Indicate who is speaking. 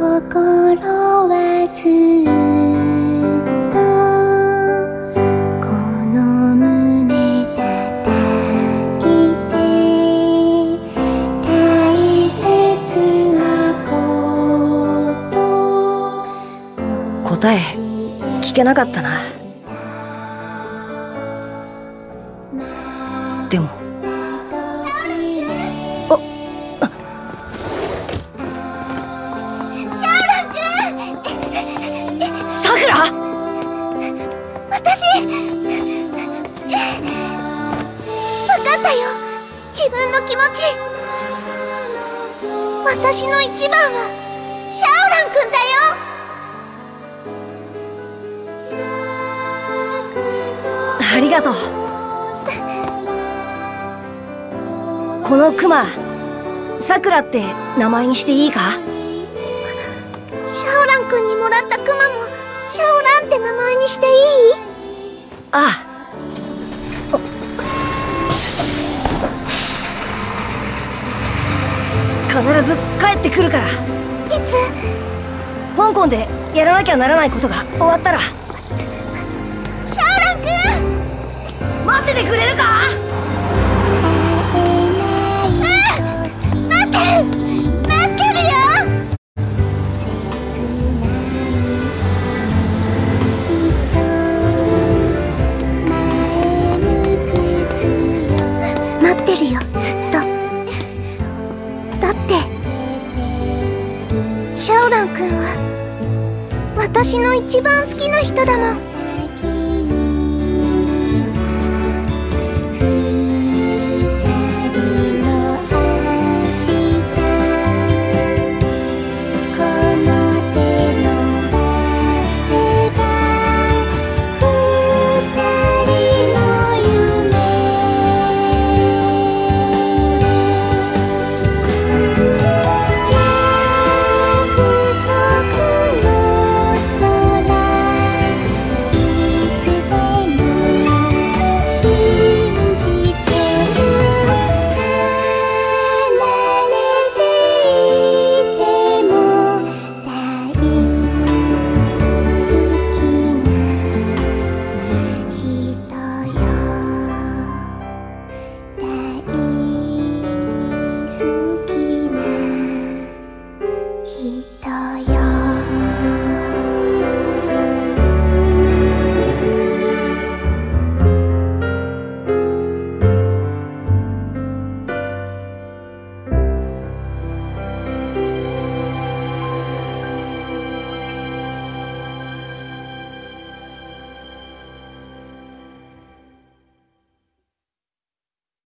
Speaker 1: 心はずっとこの胸叩いて大切なこと
Speaker 2: 答え聞けなかったな。でもさくら、
Speaker 1: 私分かったよ、自分の気持ち。私の一番はシャオラン君だよ。
Speaker 2: ありがとう。このクマ、さくらって名前にしていいか？
Speaker 1: シャオラン君にもらったクマもシャオランって名前にしていい？
Speaker 2: ああ。必ず帰ってくるから。い
Speaker 1: つ？
Speaker 2: 香港でやらなきゃならないことが終わったら。
Speaker 1: シャオラン君、
Speaker 2: 待っててくれるか？
Speaker 1: 待ってるよ。待ってるよ、ずっと。だってシャオラン君は私の一番好きな人だもん。